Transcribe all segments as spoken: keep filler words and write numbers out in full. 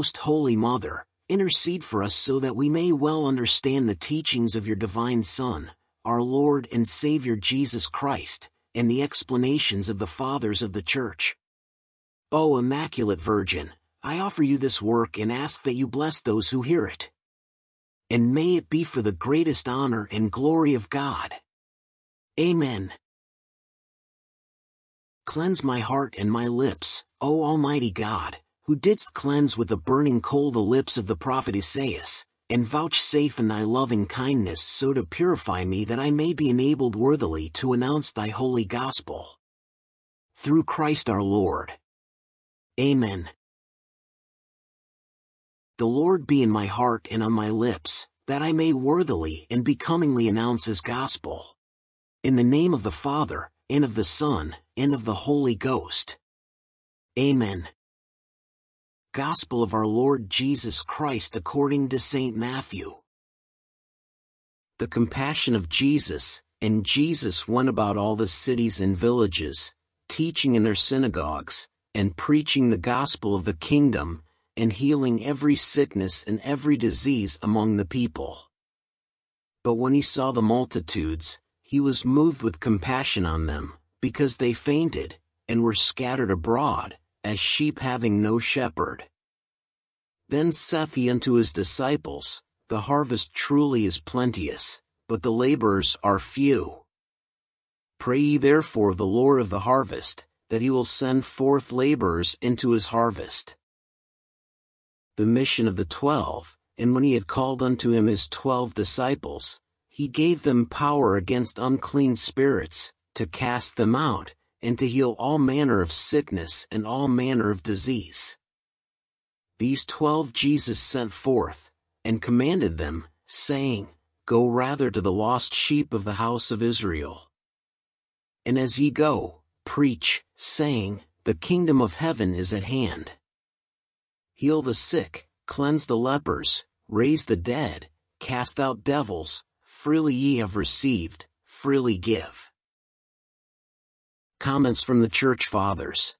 Most Holy Mother, intercede for us so that we may well understand the teachings of your divine Son, our Lord and Savior Jesus Christ, and the explanations of the Fathers of the Church. O Immaculate Virgin, I offer you this work and ask that you bless those who hear it. And may it be for the greatest honor and glory of God. Amen. Cleanse my heart and my lips, O Almighty God, who didst cleanse with a burning coal the lips of the prophet Esaias, and vouchsafe in thy loving kindness so to purify me that I may be enabled worthily to announce thy holy gospel. Through Christ our Lord. Amen. The Lord be in my heart and on my lips, that I may worthily and becomingly announce his gospel. In the name of the Father, and of the Son, and of the Holy Ghost. Amen. Gospel of our Lord Jesus Christ according to Saint Matthew. The compassion of Jesus. And Jesus went about all the cities and villages, teaching in their synagogues, and preaching the gospel of the kingdom, and healing every sickness and every disease among the people. But when he saw the multitudes, he was moved with compassion on them, because they fainted, and were scattered abroad, as sheep having no shepherd. Then saith he unto his disciples, The harvest truly is plenteous, but the laborers are few. Pray ye therefore the Lord of the harvest, that he will send forth laborers into his harvest. The mission of the twelve. And when he had called unto him his twelve disciples, he gave them power against unclean spirits, to cast them out, and to heal all manner of sickness and all manner of disease. These twelve Jesus sent forth, and commanded them, saying, Go rather to the lost sheep of the house of Israel. And as ye go, preach, saying, The kingdom of heaven is at hand. Heal the sick, cleanse the lepers, raise the dead, cast out devils, freely ye have received, freely give. Comments from the Church Fathers.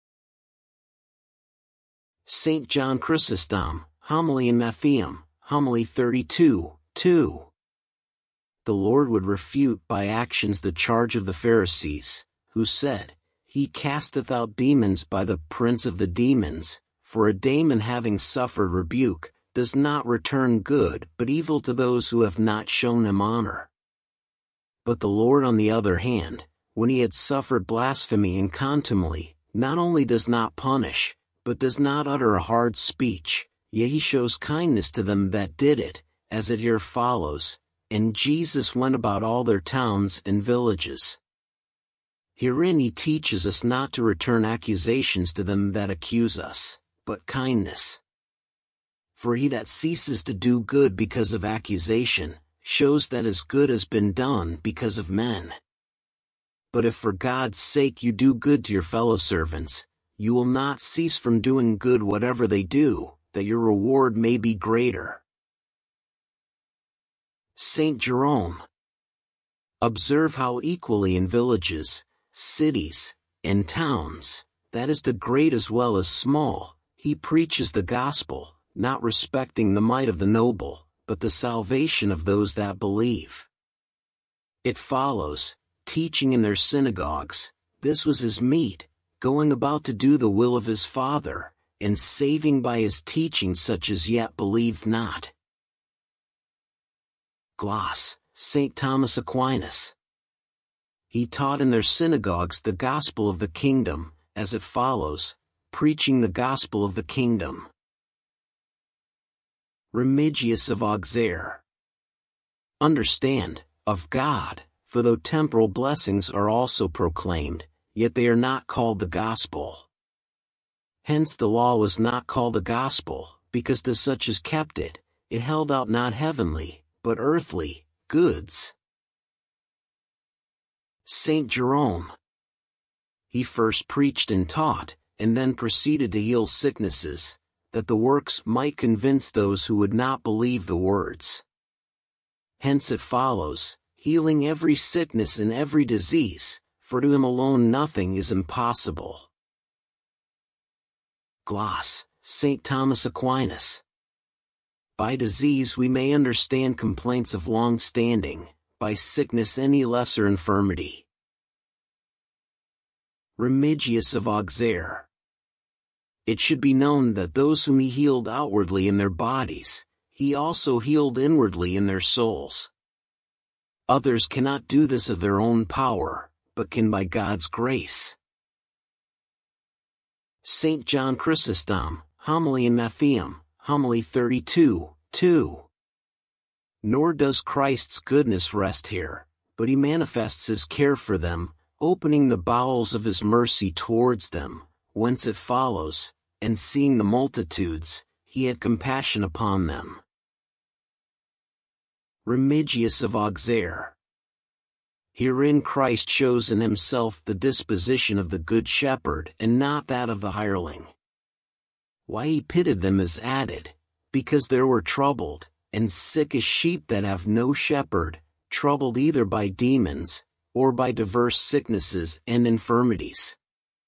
Saint John Chrysostom, Homily in Mattheum, Homily thirty-two, two. The Lord would refute by actions the charge of the Pharisees, who said, He casteth out demons by the prince of the demons, for a daemon having suffered rebuke, does not return good but evil to those who have not shown him honor. But the Lord on the other hand, when he had suffered blasphemy and contumely, not only does not punish, but does not utter a hard speech, yet he shows kindness to them that did it, as it here follows, And Jesus went about all their towns and villages. Herein he teaches us not to return accusations to them that accuse us, but kindness. For he that ceases to do good because of accusation, shows that his good has been done because of men. But if for God's sake you do good to your fellow servants, you will not cease from doing good whatever they do, that your reward may be greater. Saint Jerome. Observe how equally in villages, cities, and towns, that is the great as well as small, he preaches the gospel, not respecting the might of the noble, but the salvation of those that believe. It follows, teaching in their synagogues, this was his meat, going about to do the will of his Father, and saving by his teaching such as yet believed not. Gloss, Saint Thomas Aquinas. He taught in their synagogues the gospel of the kingdom, as it follows, preaching the gospel of the kingdom. Remigius of Auxerre. Understand, of God, for though temporal blessings are also proclaimed, yet they are not called the gospel. Hence the law was not called a gospel, because to such as kept it, it held out not heavenly, but earthly, goods. Saint Jerome. He first preached and taught, and then proceeded to heal sicknesses, that the works might convince those who would not believe the words. Hence it follows, healing every sickness and every disease, for to him alone nothing is impossible. Gloss, Saint Thomas Aquinas. By disease we may understand complaints of long standing, by sickness any lesser infirmity. Remigius of Auxerre. It should be known that those whom he healed outwardly in their bodies, he also healed inwardly in their souls. Others cannot do this of their own power, but can by God's grace. Saint John Chrysostom, Homily in Mattheum, Homily thirty-two, two. Nor does Christ's goodness rest here, but he manifests his care for them, opening the bowels of his mercy towards them, whence it follows, and seeing the multitudes, he had compassion upon them. Remigius of Auxerre. Herein Christ shows in himself the disposition of the good shepherd and not that of the hireling. Why he pitied them is added, because there were troubled, and sick as sheep that have no shepherd, troubled either by demons, or by diverse sicknesses and infirmities.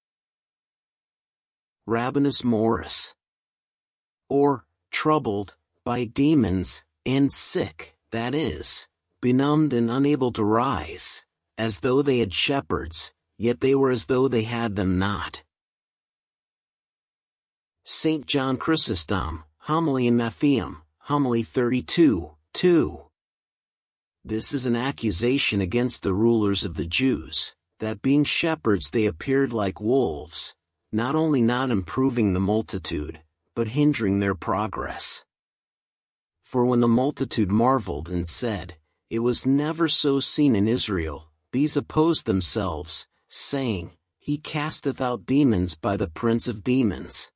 Rabanus Maurus. Or, troubled, by demons, and sick, that is, benumbed and unable to rise, as though they had shepherds, yet they were as though they had them not. Saint John Chrysostom, Homily in Mattheum, Homily thirty-two, two. This is an accusation against the rulers of the Jews, that being shepherds they appeared like wolves, not only not improving the multitude, but hindering their progress. For when the multitude marveled and said, "It was never so seen in Israel," these opposed themselves, saying, "He casteth out demons by the prince of demons."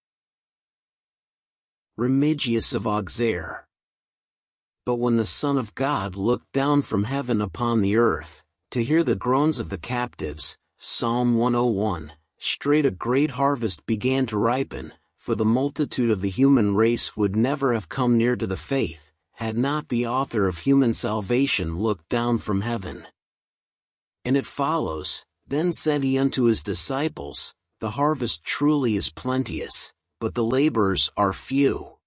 Remigius of Auxerre. But when the Son of God looked down from heaven upon the earth, to hear the groans of the captives, Psalm one oh one, straight a great harvest began to ripen, for the multitude of the human race would never have come near to the faith, had not the author of human salvation looked down from heaven. And it follows, "Then said he unto his disciples, The harvest truly is plenteous, but the laborers are few."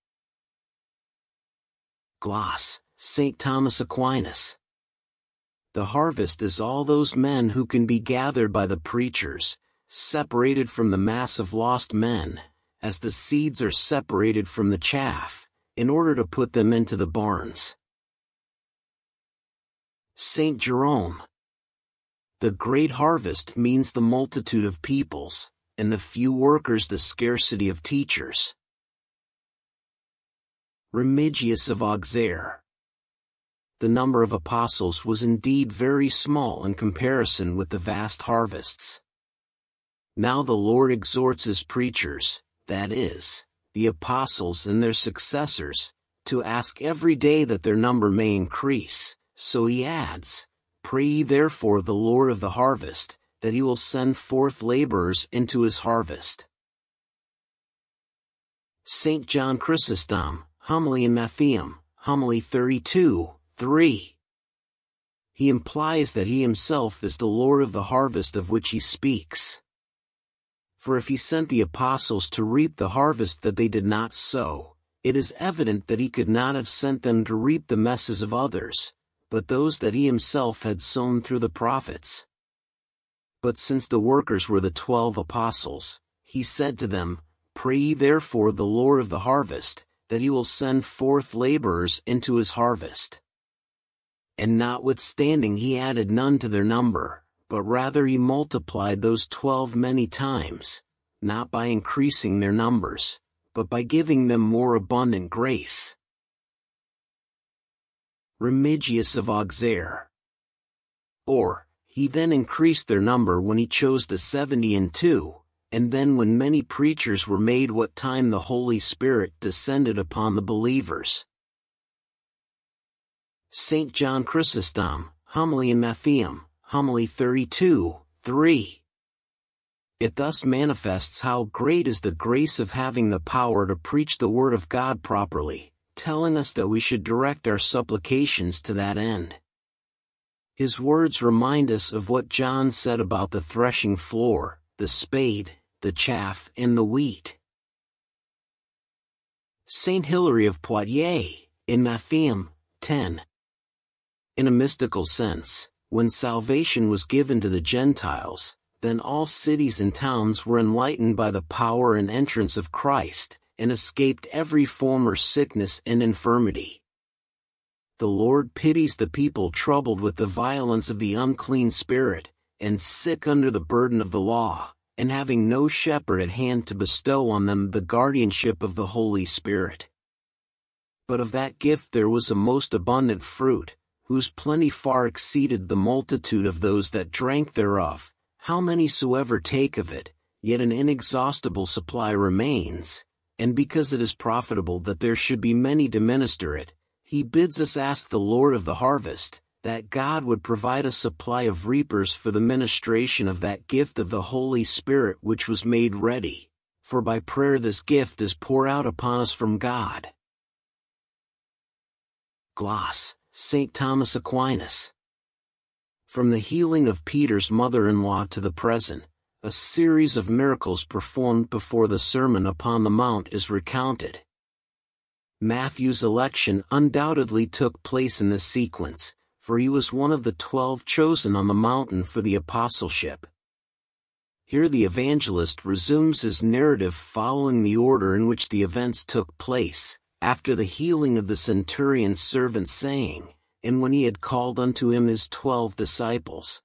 Gloss, Saint Thomas Aquinas. The harvest is all those men who can be gathered by the preachers, separated from the mass of lost men, as the seeds are separated from the chaff, in order to put them into the barns. Saint Jerome. The great harvest means the multitude of peoples, and the few workers the scarcity of teachers. Remigius of Auxerre. The number of apostles was indeed very small in comparison with the vast harvests. Now the Lord exhorts his preachers, that is, the apostles and their successors, to ask every day that their number may increase, so he adds, "Pray ye therefore the Lord of the harvest, that he will send forth laborers into his harvest." Saint John Chrysostom, Homily in Mattheum, Homily thirty-two, three. He implies that he himself is the Lord of the harvest of which he speaks. For if he sent the apostles to reap the harvest that they did not sow, it is evident that he could not have sent them to reap the messes of others, but those that he himself had sown through the prophets. But since the workers were the twelve apostles, he said to them, "Pray ye therefore the Lord of the harvest, that he will send forth laborers into his harvest." And notwithstanding he added none to their number, but rather he multiplied those twelve many times, not by increasing their numbers, but by giving them more abundant grace. Remigius of Auxerre. Or, he then increased their number when he chose the seventy and two, and then when many preachers were made what time the Holy Spirit descended upon the believers. Saint John Chrysostom, Homily in Mattheum, Homily thirty-two, three. It thus manifests how great is the grace of having the power to preach the word of God properly, telling us that we should direct our supplications to that end. His words remind us of what John said about the threshing floor, the spade, the chaff, and the wheat. Saint Hilary of Poitiers, in Matthew ten. In a mystical sense, when salvation was given to the Gentiles, then all cities and towns were enlightened by the power and entrance of Christ, and escaped every former sickness and infirmity. The Lord pities the people troubled with the violence of the unclean spirit, and sick under the burden of the law, and having no shepherd at hand to bestow on them the guardianship of the Holy Spirit. But of that gift there was a most abundant fruit, whose plenty far exceeded the multitude of those that drank thereof. How many soever take of it, yet an inexhaustible supply remains, and because it is profitable that there should be many to minister it, he bids us ask the Lord of the harvest, that God would provide a supply of reapers for the ministration of that gift of the Holy Spirit which was made ready, for by prayer this gift is poured out upon us from God. Gloss, Saint Thomas Aquinas. From the healing of Peter's mother-in-law to the present, a series of miracles performed before the Sermon upon the Mount is recounted. Matthew's election undoubtedly took place in this sequence, for he was one of the twelve chosen on the mountain for the apostleship. Here the evangelist resumes his narrative following the order in which the events took place, after the healing of the centurion's servant, saying, "And when he had called unto him his twelve disciples."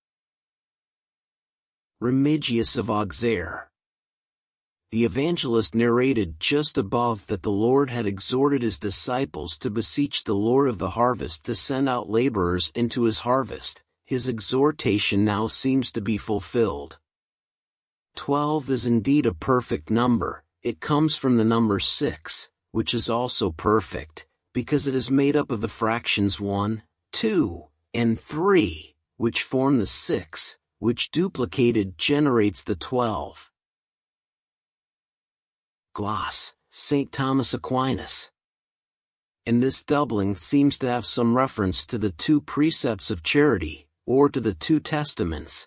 Remigius of Auxerre. The evangelist narrated just above that the Lord had exhorted his disciples to beseech the Lord of the harvest to send out laborers into his harvest. His exhortation now seems to be fulfilled. Twelve is indeed a perfect number. It comes from the number six, which is also perfect, because it is made up of the fractions one, two, and three, which form the six, which duplicated generates the twelve. Gloss, Saint Thomas Aquinas. And this doubling seems to have some reference to the two precepts of charity, or to the two testaments.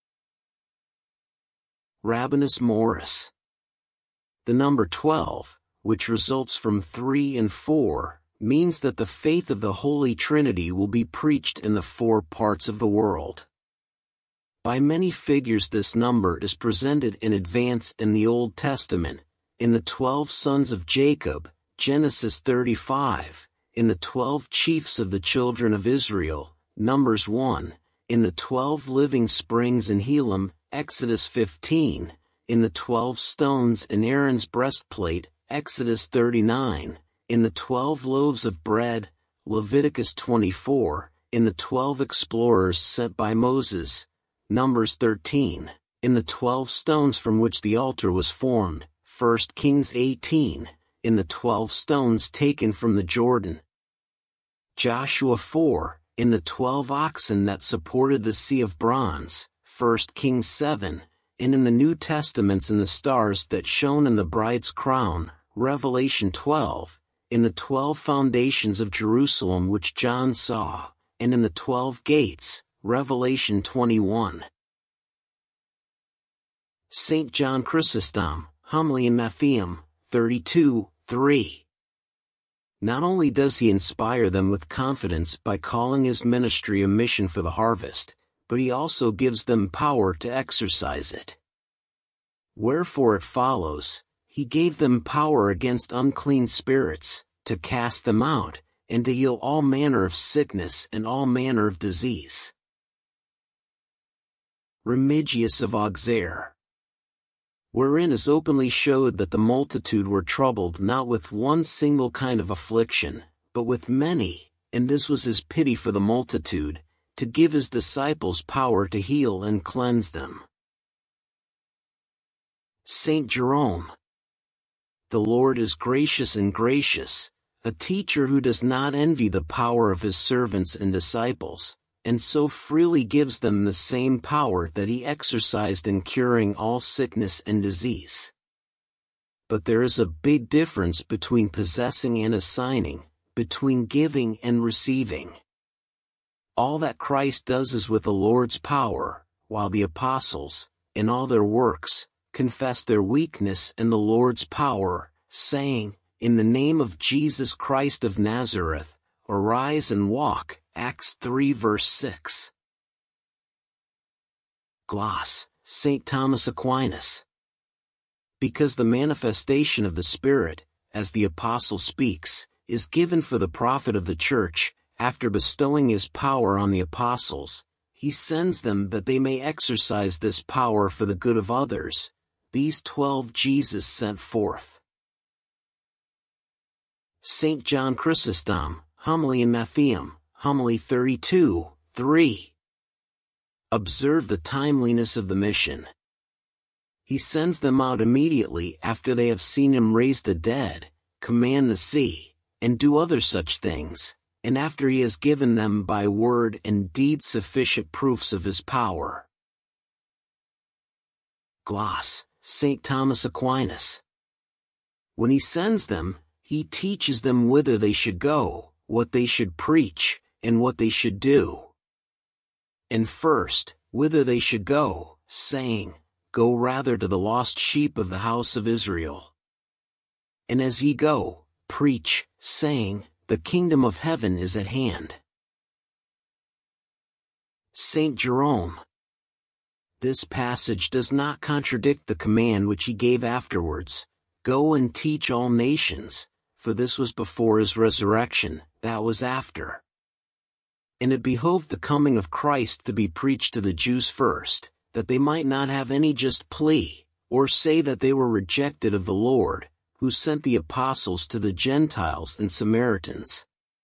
Rabanus Maurus. The number twelve, which results from three and four, means that the faith of the Holy Trinity will be preached in the four parts of the world. By many figures this number is presented in advance in the Old Testament, in the twelve sons of Jacob, Genesis thirty-five, in the twelve chiefs of the children of Israel, Numbers one, in the twelve living springs in Helam, Exodus fifteen, in the twelve stones in Aaron's breastplate, Exodus thirty-nine, in the twelve loaves of bread, Leviticus twenty-four, in the twelve explorers sent by Moses, Numbers thirteen, in the twelve stones from which the altar was formed, First Kings eighteen, in the twelve stones taken from the Jordan, Joshua four, in the twelve oxen that supported the sea of bronze, First Kings seven, and in the New Testaments in the stars that shone in the bride's crown, Revelation twelve, in the twelve foundations of Jerusalem which John saw, and in the twelve gates, Revelation twenty-one. Saint John Chrysostom, Homily in Matthew thirty-two, three. Not only does he inspire them with confidence by calling his ministry a mission for the harvest, but he also gives them power to exercise it. Wherefore it follows, he gave them power against unclean spirits, to cast them out, and to heal all manner of sickness and all manner of disease. Remigius of Auxerre. Wherein is openly showed that the multitude were troubled not with one single kind of affliction, but with many, and this was his pity for the multitude, to give his disciples power to heal and cleanse them. Saint Jerome. The Lord is gracious and gracious, a teacher who does not envy the power of his servants and disciples, and so freely gives them the same power that he exercised in curing all sickness and disease. But there is a big difference between possessing and assigning, between giving and receiving. All that Christ does is with the Lord's power, while the apostles, in all their works, confess their weakness in the Lord's power, saying, in the name of Jesus Christ of Nazareth, arise and walk. Acts three verse six. Gloss, Saint Thomas Aquinas. Because the manifestation of the Spirit, as the Apostle speaks, is given for the profit of the Church, after bestowing his power on the apostles, he sends them that they may exercise this power for the good of others. These twelve Jesus sent forth. Saint John Chrysostom, Homily in Mattheum, Homily thirty-two, three. Observe the timeliness of the mission. He sends them out immediately after they have seen him raise the dead, command the sea, and do other such things, and after he has given them by word and deed sufficient proofs of his power. Gloss, Saint Thomas Aquinas. When he sends them, he teaches them whither they should go, what they should preach, and what they should do. And first, whither they should go, saying, Go rather to the lost sheep of the house of Israel. And as ye go, preach, saying, The kingdom of heaven is at hand. Saint Jerome. This passage does not contradict the command which he gave afterwards, Go and teach all nations, for this was before his resurrection, that was after. And it behoved the coming of Christ to be preached to the Jews first, that they might not have any just plea, or say that they were rejected of the Lord, who sent the apostles to the Gentiles and Samaritans.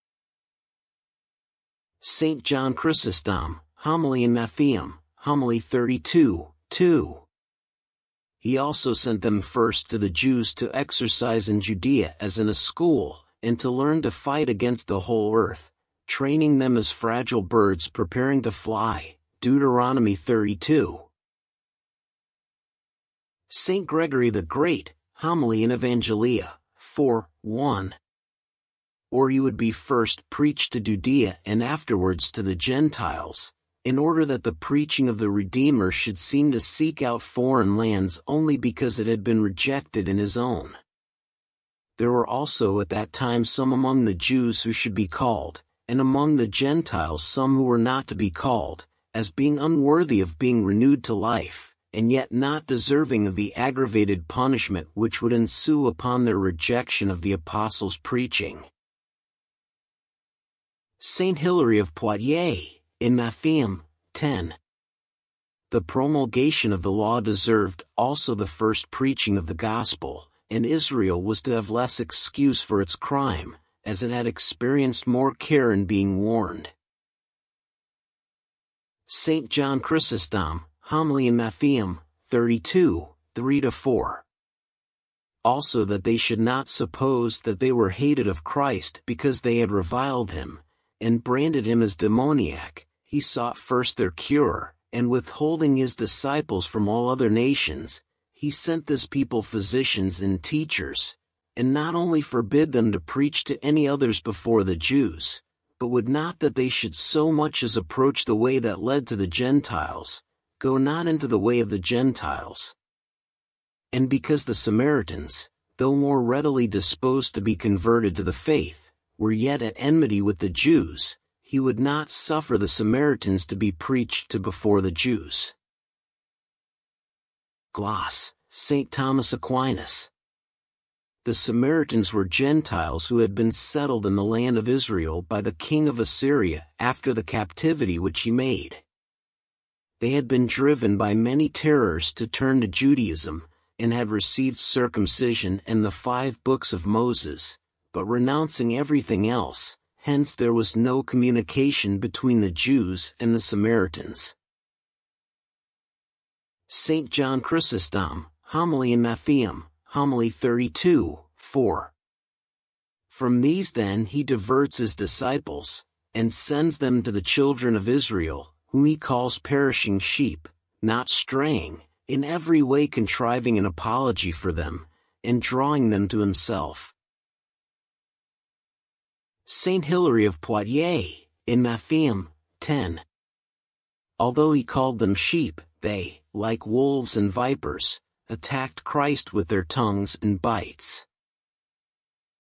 Saint John Chrysostom, Homily in Mattheum, Homily thirty-two, two. He also sent them first to the Jews to exercise in Judea as in a school, and to learn to fight against the whole earth, training them as fragile birds preparing to fly. Deuteronomy thirty-two. Saint Gregory the Great, Homily in Evangelia, four, one. Or you would be first preached to Judea and afterwards to the Gentiles, in order that the preaching of the Redeemer should seem to seek out foreign lands only because it had been rejected in his own. There were also at that time some among the Jews who should be called, and among the Gentiles some who were not to be called, as being unworthy of being renewed to life, and yet not deserving of the aggravated punishment which would ensue upon their rejection of the apostles' preaching. Saint Hilary of Poitiers, in Mattheum, ten. The promulgation of the law deserved also the first preaching of the gospel, and Israel was to have less excuse for its crime, as it had experienced more care in being warned. Saint John Chrysostom, Homily in Mattheum, thirty-two, three to four. Also that they should not suppose that they were hated of Christ because they had reviled him, and branded him as demoniac, he sought first their cure, and withholding his disciples from all other nations, he sent this people physicians and teachers, and not only forbid them to preach to any others before the Jews, but would not that they should so much as approach the way that led to the Gentiles, go not into the way of the Gentiles. And because the Samaritans, though more readily disposed to be converted to the faith, were yet at enmity with the Jews, he would not suffer the Samaritans to be preached to before the Jews. Gloss, Saint Thomas Aquinas. The Samaritans were Gentiles who had been settled in the land of Israel by the king of Assyria after the captivity which he made. They had been driven by many terrors to turn to Judaism, and had received circumcision and the five books of Moses, but renouncing everything else, hence there was no communication between the Jews and the Samaritans. Saint John Chrysostom, Homily in Mattheum, Homily thirty-two, four. From these then he diverts his disciples, and sends them to the children of Israel, whom he calls perishing sheep, not straying, in every way contriving an apology for them, and drawing them to himself. Saint Hilary of Poitiers, in Mattheum, ten. Although he called them sheep, they, like wolves and vipers, attacked Christ with their tongues and bites.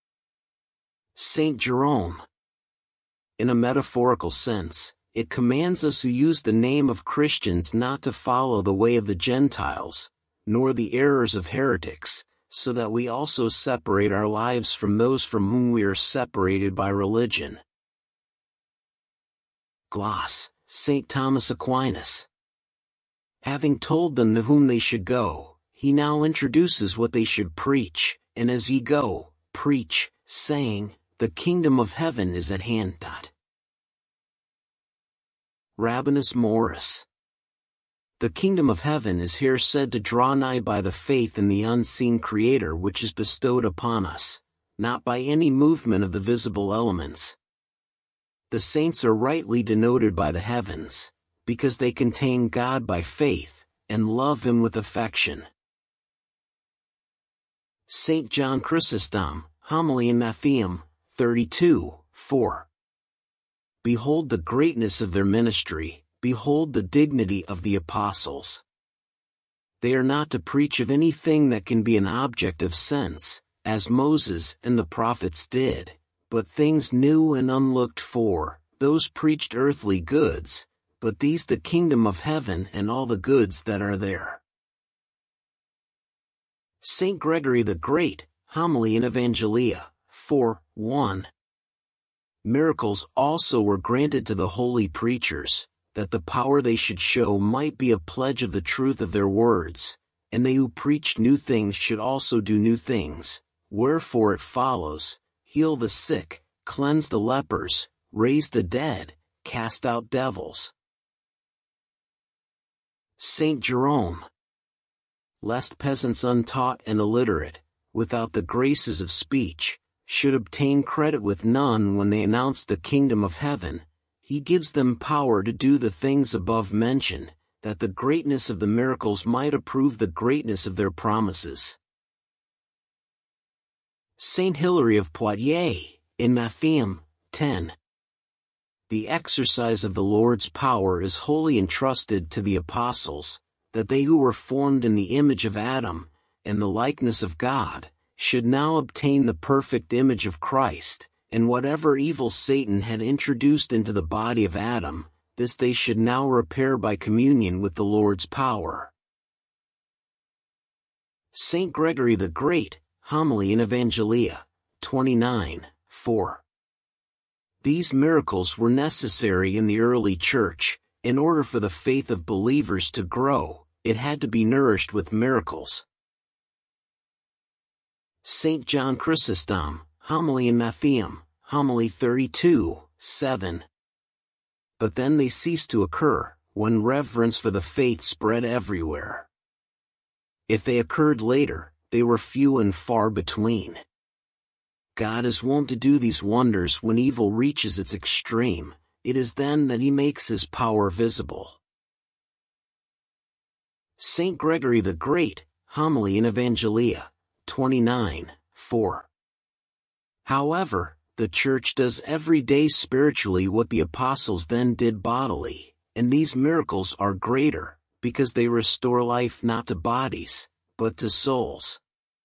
Saint Jerome. In a metaphorical sense, it commands us who use the name of Christians not to follow the way of the Gentiles, nor the errors of heretics, so that we also separate our lives from those from whom we are separated by religion. Gloss, Saint Thomas Aquinas. Having told them to whom they should go, he now introduces what they should preach, and as ye go, preach, saying, the kingdom of heaven is at hand. Rabanus Maurus. The kingdom of heaven is here said to draw nigh by the faith in the unseen Creator which is bestowed upon us, not by any movement of the visible elements. The saints are rightly denoted by the heavens, because they contain God by faith, and love Him with affection. Saint John Chrysostom, Homily in Mattheum, thirty-two, four. Behold the greatness of their ministry, behold the dignity of the apostles. They are not to preach of anything that can be an object of sense, as Moses and the prophets did, but things new and unlooked for. Those preached earthly goods, but these the kingdom of heaven and all the goods that are there. Saint Gregory the Great, Homily in Evangelia, four, one. Miracles also were granted to the holy preachers, that the power they should show might be a pledge of the truth of their words, and they who preached new things should also do new things, wherefore it follows, heal the sick, cleanse the lepers, raise the dead, cast out devils. Saint Jerome. Lest peasants untaught and illiterate, without the graces of speech, should obtain credit with none when they announce the kingdom of heaven, he gives them power to do the things above mentioned, that the greatness of the miracles might approve the greatness of their promises. Saint Hilary of Poitiers, in Mattheum, ten. The exercise of the Lord's power is wholly entrusted to the apostles, that they who were formed in the image of Adam, and the likeness of God, should now obtain the perfect image of Christ, and whatever evil Satan had introduced into the body of Adam, this they should now repair by communion with the Lord's power. Saint Gregory the Great, Homily in Evangelia, twenty-nine, four. These miracles were necessary in the early church. In order for the faith of believers to grow, it had to be nourished with miracles. Saint John Chrysostom, Homily in Mattheum, Homily thirty-two, seven. But then they ceased to occur, when reverence for the faith spread everywhere. If they occurred later, they were few and far between. God is wont to do these wonders when evil reaches its extreme. It is then that He makes His power visible. Saint Gregory the Great, Homily in Evangelia, twenty-nine, four. However, the Church does every day spiritually what the apostles then did bodily, and these miracles are greater, because they restore life not to bodies, but to souls.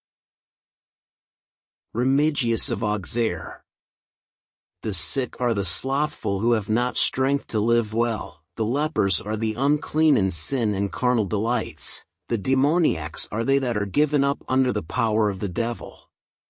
Remigius of Auxerre. The sick are the slothful who have not strength to live well, the lepers are the unclean in sin and carnal delights, the demoniacs are they that are given up under the power of the devil.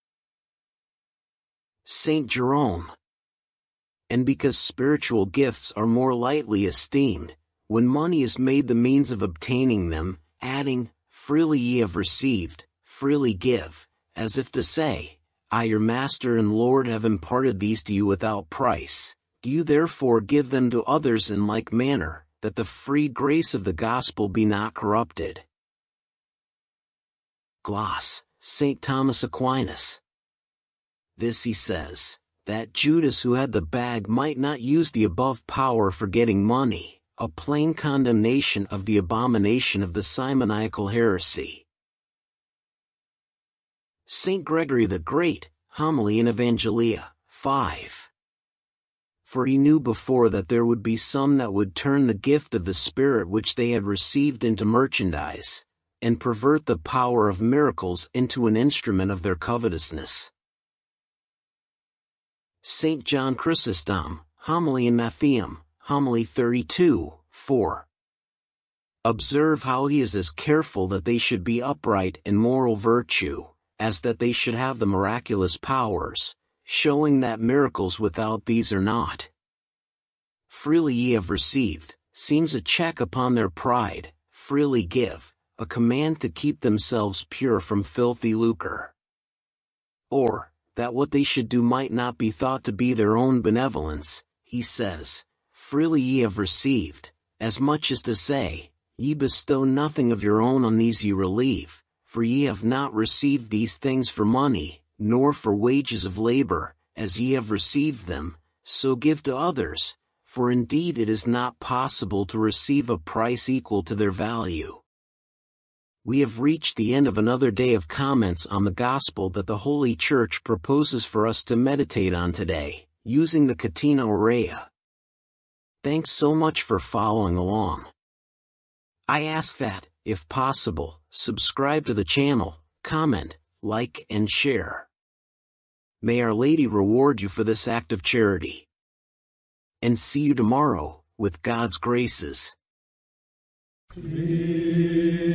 Saint Jerome. And because spiritual gifts are more lightly esteemed, when money is made the means of obtaining them, adding, freely ye have received, freely give, as if to say, I your Master and Lord have imparted these to you without price, do you therefore give them to others in like manner, that the free grace of the gospel be not corrupted. Gloss, Saint Thomas Aquinas. This he says, that Judas who had the bag might not use the above power for getting money, a plain condemnation of the abomination of the simoniacal heresy. Saint Gregory the Great, Homily in Evangelia, five. For he knew before that there would be some that would turn the gift of the Spirit which they had received into merchandise, and pervert the power of miracles into an instrument of their covetousness. Saint John Chrysostom, Homily in Mattheum, Homily thirty-two, four. Observe how he is as careful that they should be upright in moral virtue, as that they should have the miraculous powers, showing that miracles without these are not. Freely ye have received, seems a check upon their pride, freely give, a command to keep themselves pure from filthy lucre. Or, that what they should do might not be thought to be their own benevolence, he says, freely ye have received, as much as to say, ye bestow nothing of your own on these ye relieve, for ye have not received these things for money, nor for wages of labor, as ye have received them, so give to others, for indeed it is not possible to receive a price equal to their value. We have reached the end of another day of comments on the gospel that the Holy Church proposes for us to meditate on today, using the Catena Aurea. Thanks so much for following along. I ask that, if possible, subscribe to the channel, comment, like and share. May Our Lady reward you for this act of charity. And see you tomorrow, with God's graces. Amen.